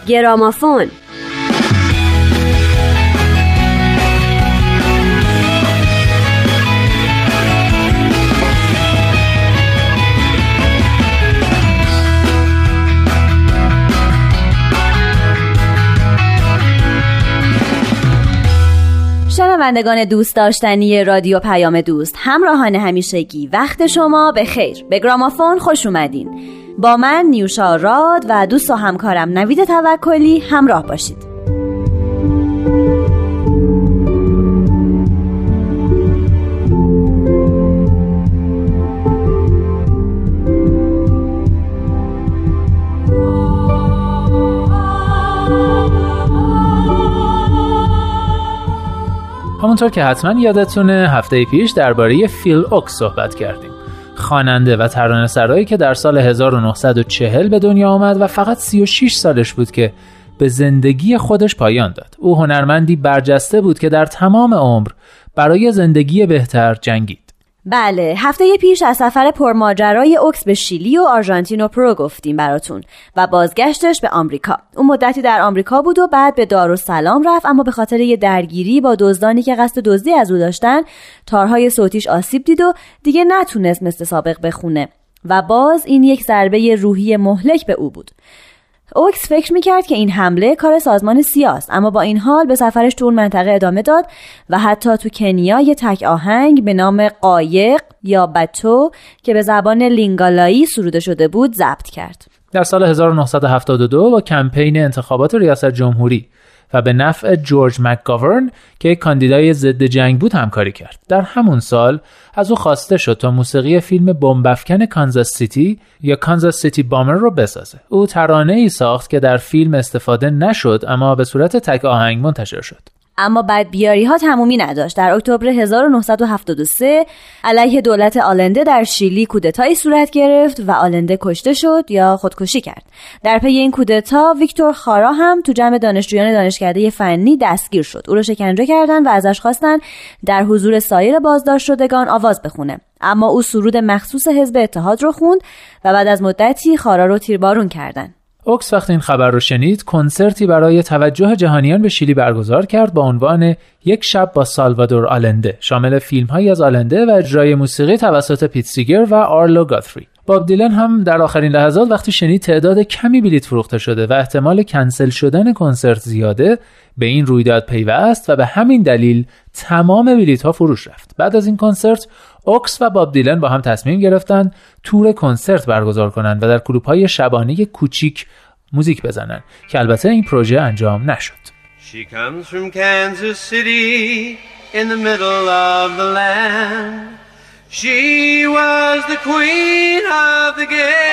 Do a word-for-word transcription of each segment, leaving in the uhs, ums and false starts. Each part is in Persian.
گرامافون. شنوندگان دوست داشتنی رادیو پیام دوست، همراهان همیشگی، وقت شما به خیر. به گرامافون خوش اومدین. با من نیوشا راد و دوست و همکارم نوید توکلی همراه باشید. همونطور که حتما یادتونه هفته پیش درباره فیل اوکس صحبت کردیم. خواننده و ترانه‌سرایی که در سال هزار و نهصد و چهل به دنیا آمد و فقط سی و شش سالش بود که به زندگی خودش پایان داد. او هنرمندی برجسته بود که در تمام عمر برای زندگی بهتر جنگید. بله، هفته پیش از سفر پرماجرای اوکس به شیلی و آرژانتین و پرو گفتیم براتون و بازگشتش به آمریکا. اون مدتی در آمریکا بود و بعد به دارالسلام رفت، اما به خاطر یه درگیری با دزدانی که قصد دزدی از او داشتن تارهای صوتیش آسیب دید و دیگه نتونست مثل سابق بخونه و باز این یک ضربه روحی مهلک به او بود. اوکس فکر میکرد که این حمله کار سازمان سیاست، اما با این حال به سفرش تو اون منطقه ادامه داد و حتی تو کنیا یه تک آهنگ به نام قایق یا بتو که به زبان لینگالایی سروده شده بود ضبط کرد. در سال هزار و نهصد و هفتاد و دو با کمپین انتخابات ریاست جمهوری و به نفع جورج مکگاورن که یک کاندیدای ضد جنگ بود همکاری کرد. در همون سال از او خواسته شد تا موسیقی فیلم بمب‌افکن کانزاس سیتی یا کانزاس سیتی بامر رو بسازه. او ترانه‌ای ساخت که در فیلم استفاده نشد اما به صورت تک آهنگ منتشر شد. اما بدبیاری ها تمومی نداشت. در اکتبر هزار و نهصد و هفتاد و سه علیه دولت آلنده در شیلی کودتایی صورت گرفت و آلنده کشته شد یا خودکشی کرد. در پی این کودتا ویکتور خارا هم تو جمع دانشجویان دانشکده فنی دستگیر شد. او رو شکنجه کردن و ازش خواستن در حضور سایر بازداشت شدگان آواز بخونه. اما او سرود مخصوص حزب اتحاد رو خوند و بعد از مدتی خارا رو تیربارون کردن. اوکس وقتی این خبر رو شنید کنسرتی برای توجه جهانیان به شیلی برگزار کرد با عنوان یک شب با سالوادور آلنده، شامل فیلم‌هایی از آلنده و اجرای موسیقی توسط پیت سیگر و آرلو گاتفری. باب دیلن هم در آخرین لحظات وقتی شنید تعداد کمی بلیت فروخته شده و احتمال کنسل شدن کنسرت زیاده، به این رویداد پیوست و به همین دلیل تمام بلیت‌ها فروش رفت. بعد از این کنسرت اوکس و باب دیلن با هم تصمیم گرفتن تور کنسرت برگزار کنند و در کلوب‌های شبانه کوچیک موزیک بزنن که البته این پروژه انجام نشد. She comes from Kansas City in the middle of the land. She was the queen of the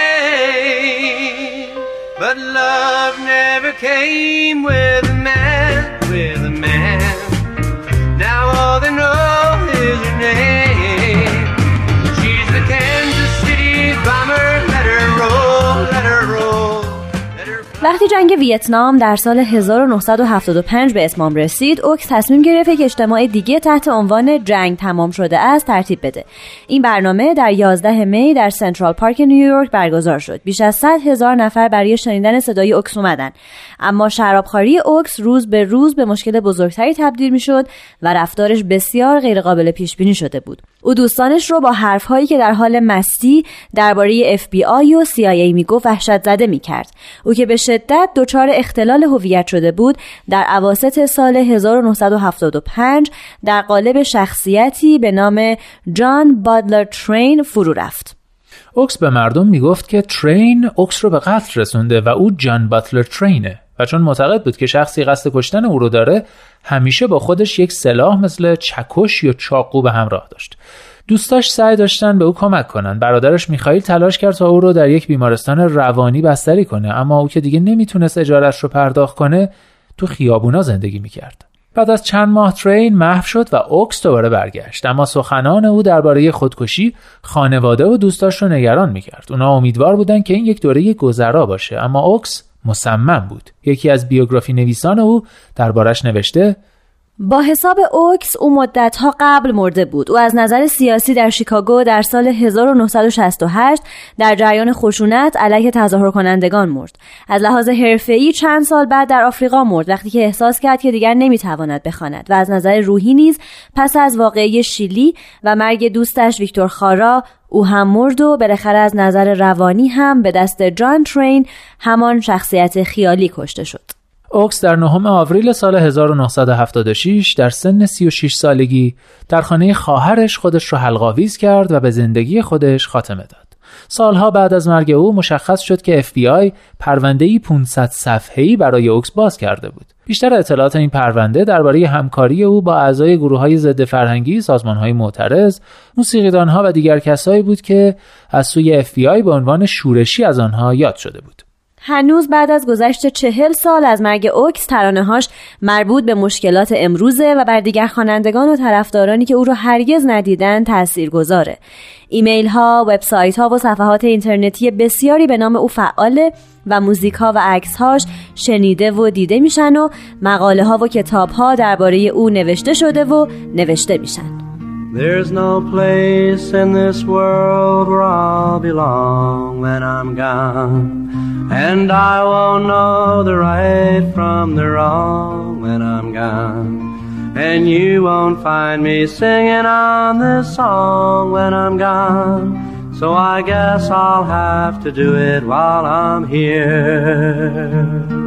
game. But love never came with a man, with a man. Now all they know is her name. She's the Kansas City bomber. Let her roll, let her roll. وقتی جنگ ویتنام در سال هزار و نهصد و هفتاد و پنج به اتمام رسید، اوکس تصمیم گرفت یک اجتماع دیگه تحت عنوان جنگ تمام شده است ترتیب بده. این برنامه در یازده می در سنترال پارک نیویورک برگزار شد. بیش از صد هزار نفر برای شنیدن صدای اوکس اومدن. اما شرابخواری اوکس روز به روز به مشکل بزرگتری تبدیل میشد و رفتارش بسیار غیرقابل پیش بینی شده بود. او دوستانش رو با حرف‌هایی که در حال مستی درباره اف بی آی و سی آی ای میگفت وحشت زده میکرد. او که به شدت دچار اختلال هویت شده بود، در اواسط سال هزار و نهصد و هفتاد و پنج در قالب شخصیتی به نام جان بادلر ترین فرو رفت. اوکس به مردم میگفت که ترین اوکس رو به قتل رسونده و او جان باتلر ترینه و چون معتقد بود که شخصی قصد کشتن او رو داره، همیشه با خودش یک سلاح مثل چکش یا چاقو به همراه داشت. دوستاش سعی داشتن به او کمک کنن. برادرش میخائیل تلاش کرد تا او رو در یک بیمارستان روانی بستری کنه، اما او که دیگه نمیتونست اجارش رو پرداخت کنه، تو خیابونا زندگی میکرد. بعد از چند ماه ترین محو شد و اوکس دوباره برگشت، اما سخنان او درباره خودکشی خانواده و دوستاش رو نگران میکرد. اونا امیدوار بودن که این یک دوره گذرا باشه، اما اوکس مصمم بود. یکی از بیوگرافی نویسان او دربارش نوشته: با حساب اوکس او مدت‌ها قبل مرده بود. او از نظر سیاسی در شیکاگو در سال هزار و نهصد و شصت و هشت در جریان خشونت علیه تظاهر کنندگان مرد. از لحاظ حرفه‌ای چند سال بعد در آفریقا مرد وقتی که احساس کرد که دیگر نمیتواند بخواند و از نظر روحی نیز پس از واقعه شیلی و مرگ دوستش ویکتور خارا او هم مرد و بالاخره از نظر روانی هم به دست جان ترین، همان شخصیت خیالی، کشته شد. اوکس در نهم آوریل سال هزار و نهصد و هفتاد و شش در سن سی و شش سالگی در خانه خواهرش خودش را حلق‌آویز کرد و به زندگی خودش خاتمه داد. سالها بعد از مرگ او مشخص شد که اف بی آی پرونده‌ای پانصد صفحه‌ای برای اوکس باز کرده بود. بیشتر اطلاعات این پرونده درباره همکاری او با اعضای گروه‌های ضد فرهنگی، سازمان‌های معترض، موسیقیدان‌ها و دیگر کسایی بود که از سوی اف بی آی به عنوان شورشی از آنها یاد شده بود. هنوز بعد از گذشت چهل سال از مرگ اوکس ترانه‌هاش مربوط به مشکلات امروزه و بر دیگر خوانندگان و طرفدارانی که او رو هرگز ندیدن تاثیرگذاره. ایمیل ها، وبسایت ها و صفحات اینترنتی بسیاری به نام او فعاله و موزیک ها و عکس هاش شنیده و دیده میشن و مقاله ها و کتاب ها درباره او نوشته شده و نوشته میشن. There's no place in this world where I'll belong when I'm gone, and I won't know the right from the wrong when I'm gone, and you won't find me singing on this song when I'm gone, so I guess I'll have to do it while I'm here.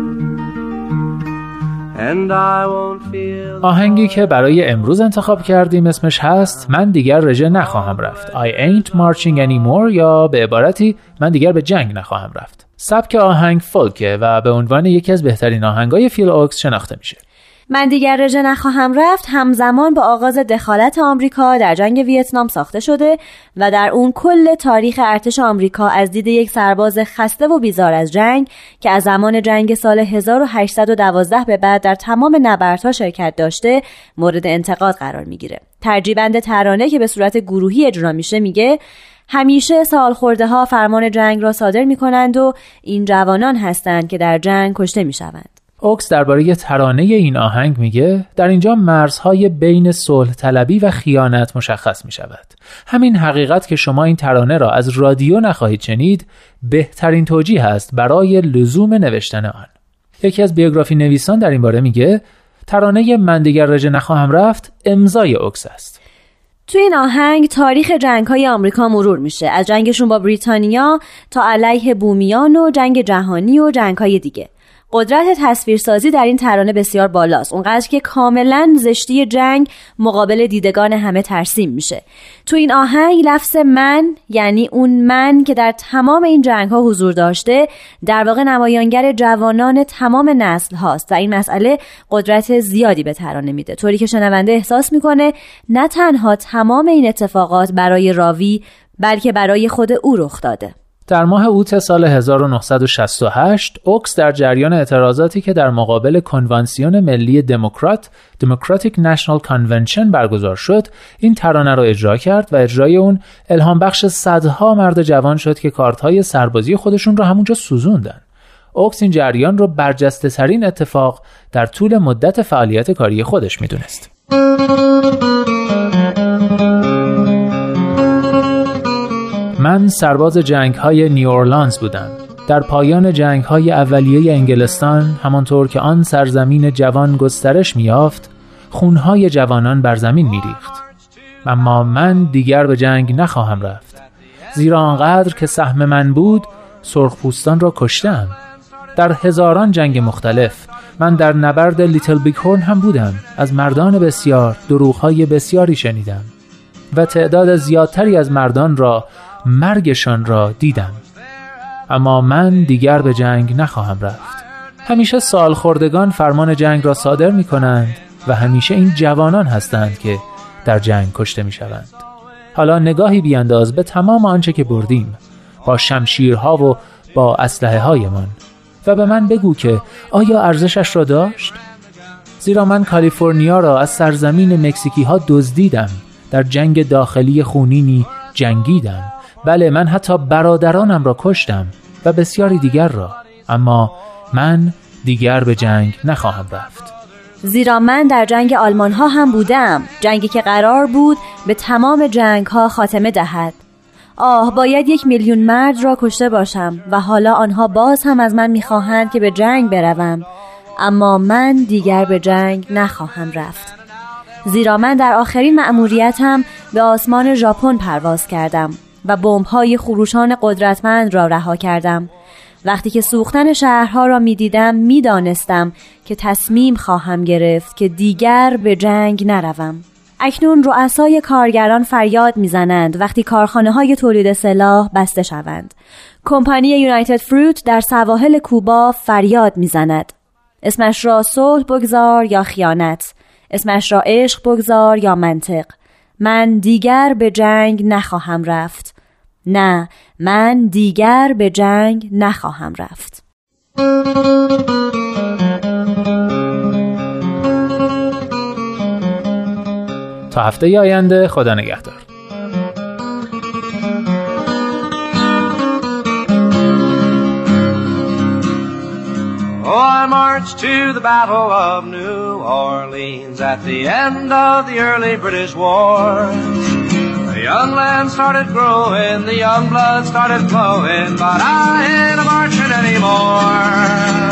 آهنگی که برای امروز انتخاب کردیم اسمش هست من دیگر رژه نخواهم رفت. I ain't marching anymore، یا به عبارتی من دیگر به جنگ نخواهم رفت. سبک آهنگ فولکه و به عنوان یکی از بهترین آهنگای فیل اوکس شناخته میشه. من دیگر رژه نخواهم رفت همزمان با آغاز دخالت آمریکا در جنگ ویتنام ساخته شده و در اون کل تاریخ ارتش آمریکا از دید یک سرباز خسته و بیزار از جنگ که از زمان جنگ سال هزار و هشتصد و دوازده به بعد در تمام نبردها شرکت داشته مورد انتقاد قرار میگیره. ترجیبند ترانه که به صورت گروهی اجرا میشه میگه همیشه سالخورده ها فرمان جنگ را صادر میکنند و این جوانان هستند که در جنگ کشته میشوند. اوکس درباره ترانه این آهنگ میگه در اینجا مرزهای بین صلح طلبی و خیانت مشخص میشود. همین حقیقت که شما این ترانه را از رادیو نخواهید شنید بهترین توجیه است برای لزوم نوشتن آن. یکی از بیوگرافی نویسان در این باره میگه ترانه من دیگر رژه نخواهم رفت امضای اوکس است. تو این آهنگ تاریخ جنگ‌های آمریکا مرور میشه، از جنگشون با بریتانیا تا علیه بومیان و جنگ جهانی و جنگ‌های دیگه. قدرت تصویرسازی در این ترانه بسیار بالاست، اونقدر که کاملا زشتی جنگ مقابل دیدگان همه ترسیم میشه. تو این آهنگ لفظ من، یعنی اون من که در تمام این جنگ ها حضور داشته، در واقع نمایانگر جوانان تمام نسل هاست و این مسئله قدرت زیادی به ترانه میده، طوری که شنونده احساس میکنه نه تنها تمام این اتفاقات برای راوی بلکه برای خود او رخ داده. در ماه اوت سال هزار و نهصد و شصت و هشت اوکس در جریان اعتراضاتی که در مقابل کنوانسیون ملی دموکرات Democratic National Convention برگزار شد این ترانه را اجرا کرد و اجرای اون الهام بخش صدها مرد جوان شد که کارت‌های سربازی خودشون را همونجا سوزوندن. اوکس این جریان را برجسته ترین اتفاق در طول مدت فعالیت کاری خودش میدونست. من سرباز جنگ‌های نیو اورلانز بودم. در پایان جنگ‌های اولیه انگلستان، همانطور که آن سرزمین جوان گسترش می‌یافت، خون‌های جوانان بر زمین می‌ریخت. اما من دیگر به جنگ نخواهم رفت. زیرا آنقدر که سهم من بود، سرخپوستان را کشتم. در هزاران جنگ مختلف، من در نبرد لیتل بیگ هورن هم بودم. از مردان بسیار دروغ‌های بسیاری شنیدم و تعداد زیادتری از مردان را مرگشان را دیدم. اما من دیگر به جنگ نخواهم رفت. همیشه سالخوردگان فرمان جنگ را صادر می کنند و همیشه این جوانان هستند که در جنگ کشته می شوند. حالا نگاهی بیانداز به تمام آنچه که بردیم با شمشیرها و با اسلحه هایمان و به من بگو که آیا ارزشش را داشت؟ زیرا من کالیفرنیا را از سرزمین مکزیکی ها دزدیدم، در جنگ داخلی خونینی جنگیدم. بله، من حتی برادرانم را کشتم و بسیاری دیگر را، اما من دیگر به جنگ نخواهم رفت. زیرا من در جنگ آلمان ها هم بودم، جنگی که قرار بود به تمام جنگ ها خاتمه دهد. آه، باید یک میلیون مرد را کشته باشم و حالا آنها باز هم از من میخواهند که به جنگ بروم، اما من دیگر به جنگ نخواهم رفت. زیرا من در آخرین مأموریتم به آسمان ژاپن پرواز کردم و بمب‌های خروشان قدرتمند را رها کردم. وقتی که سوختن شهرها را می‌دیدم می‌دانستم که تصمیم خواهم گرفت که دیگر به جنگ نروم. اکنون رؤسای کارگران فریاد می‌زنند وقتی کارخانه‌های تولید سلاح بسته شوند. کمپانی یونایتد فروت در سواحل کوبا فریاد می‌زند. اسمش را صلح بگذار یا خیانت، اسمش را عشق بگذار یا منطق. من دیگر به جنگ نخواهم رفت. نه، من دیگر به جنگ نخواهم رفت. تا هفته آینده، خدا نگهدار. Oh, I marched to the Battle of New Orleans at the end of the early British wars. The young land started growing, the young blood started flowing, but I ain't marching anymore.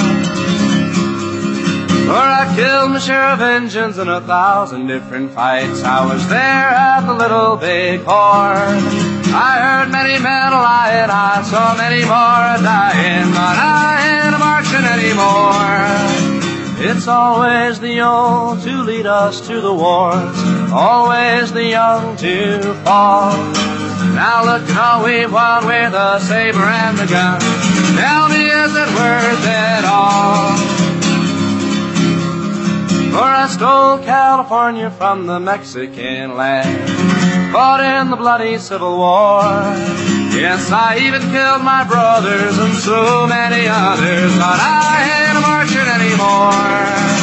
For I killed my share of Injuns in a thousand different fights. I was there at the Little Big Horn. I heard many men lying, I saw many more dying, but I ain't marching anymore. It's always the old to lead us to the wars, always the young to fall. Now look how we've won with the saber and the gun. Tell me, is it worth it all? For I stole California from the Mexican land, fought in the bloody Civil War. Yes, I even killed my brothers and so many others, but I ain't marching anymore.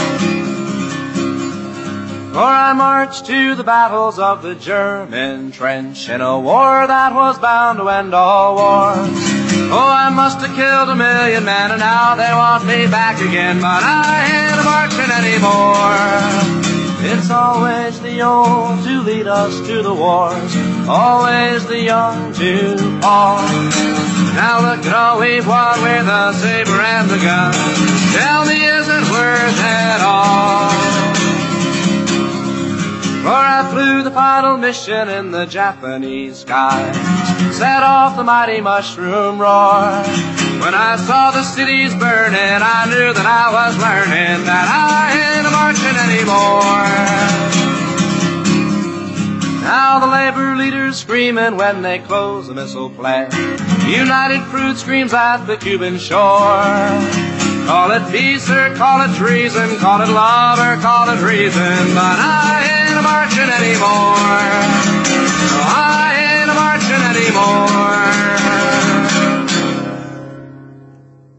For I marched to the battles of the German trench in a war that was bound to end all wars. Oh, I must have killed a million men and now they want me back again, but I ain't marching anymore. It's always the old to lead us to the wars, always the young to fall. Now look at all we've won with the saber and the gun. Tell me, is it worth it all? For I flew the final mission in the Japanese skies, set off the mighty mushroom roar. When I saw the cities burning, I knew that I was learning that I ain't marching anymore. Now the labor leaders screaming when they close the missile plant. United Fruit screams at the Cuban shore. Call it peace or call it treason, call it love or call it reason, but I ain't marching anymore. No, I ain't marching anymore.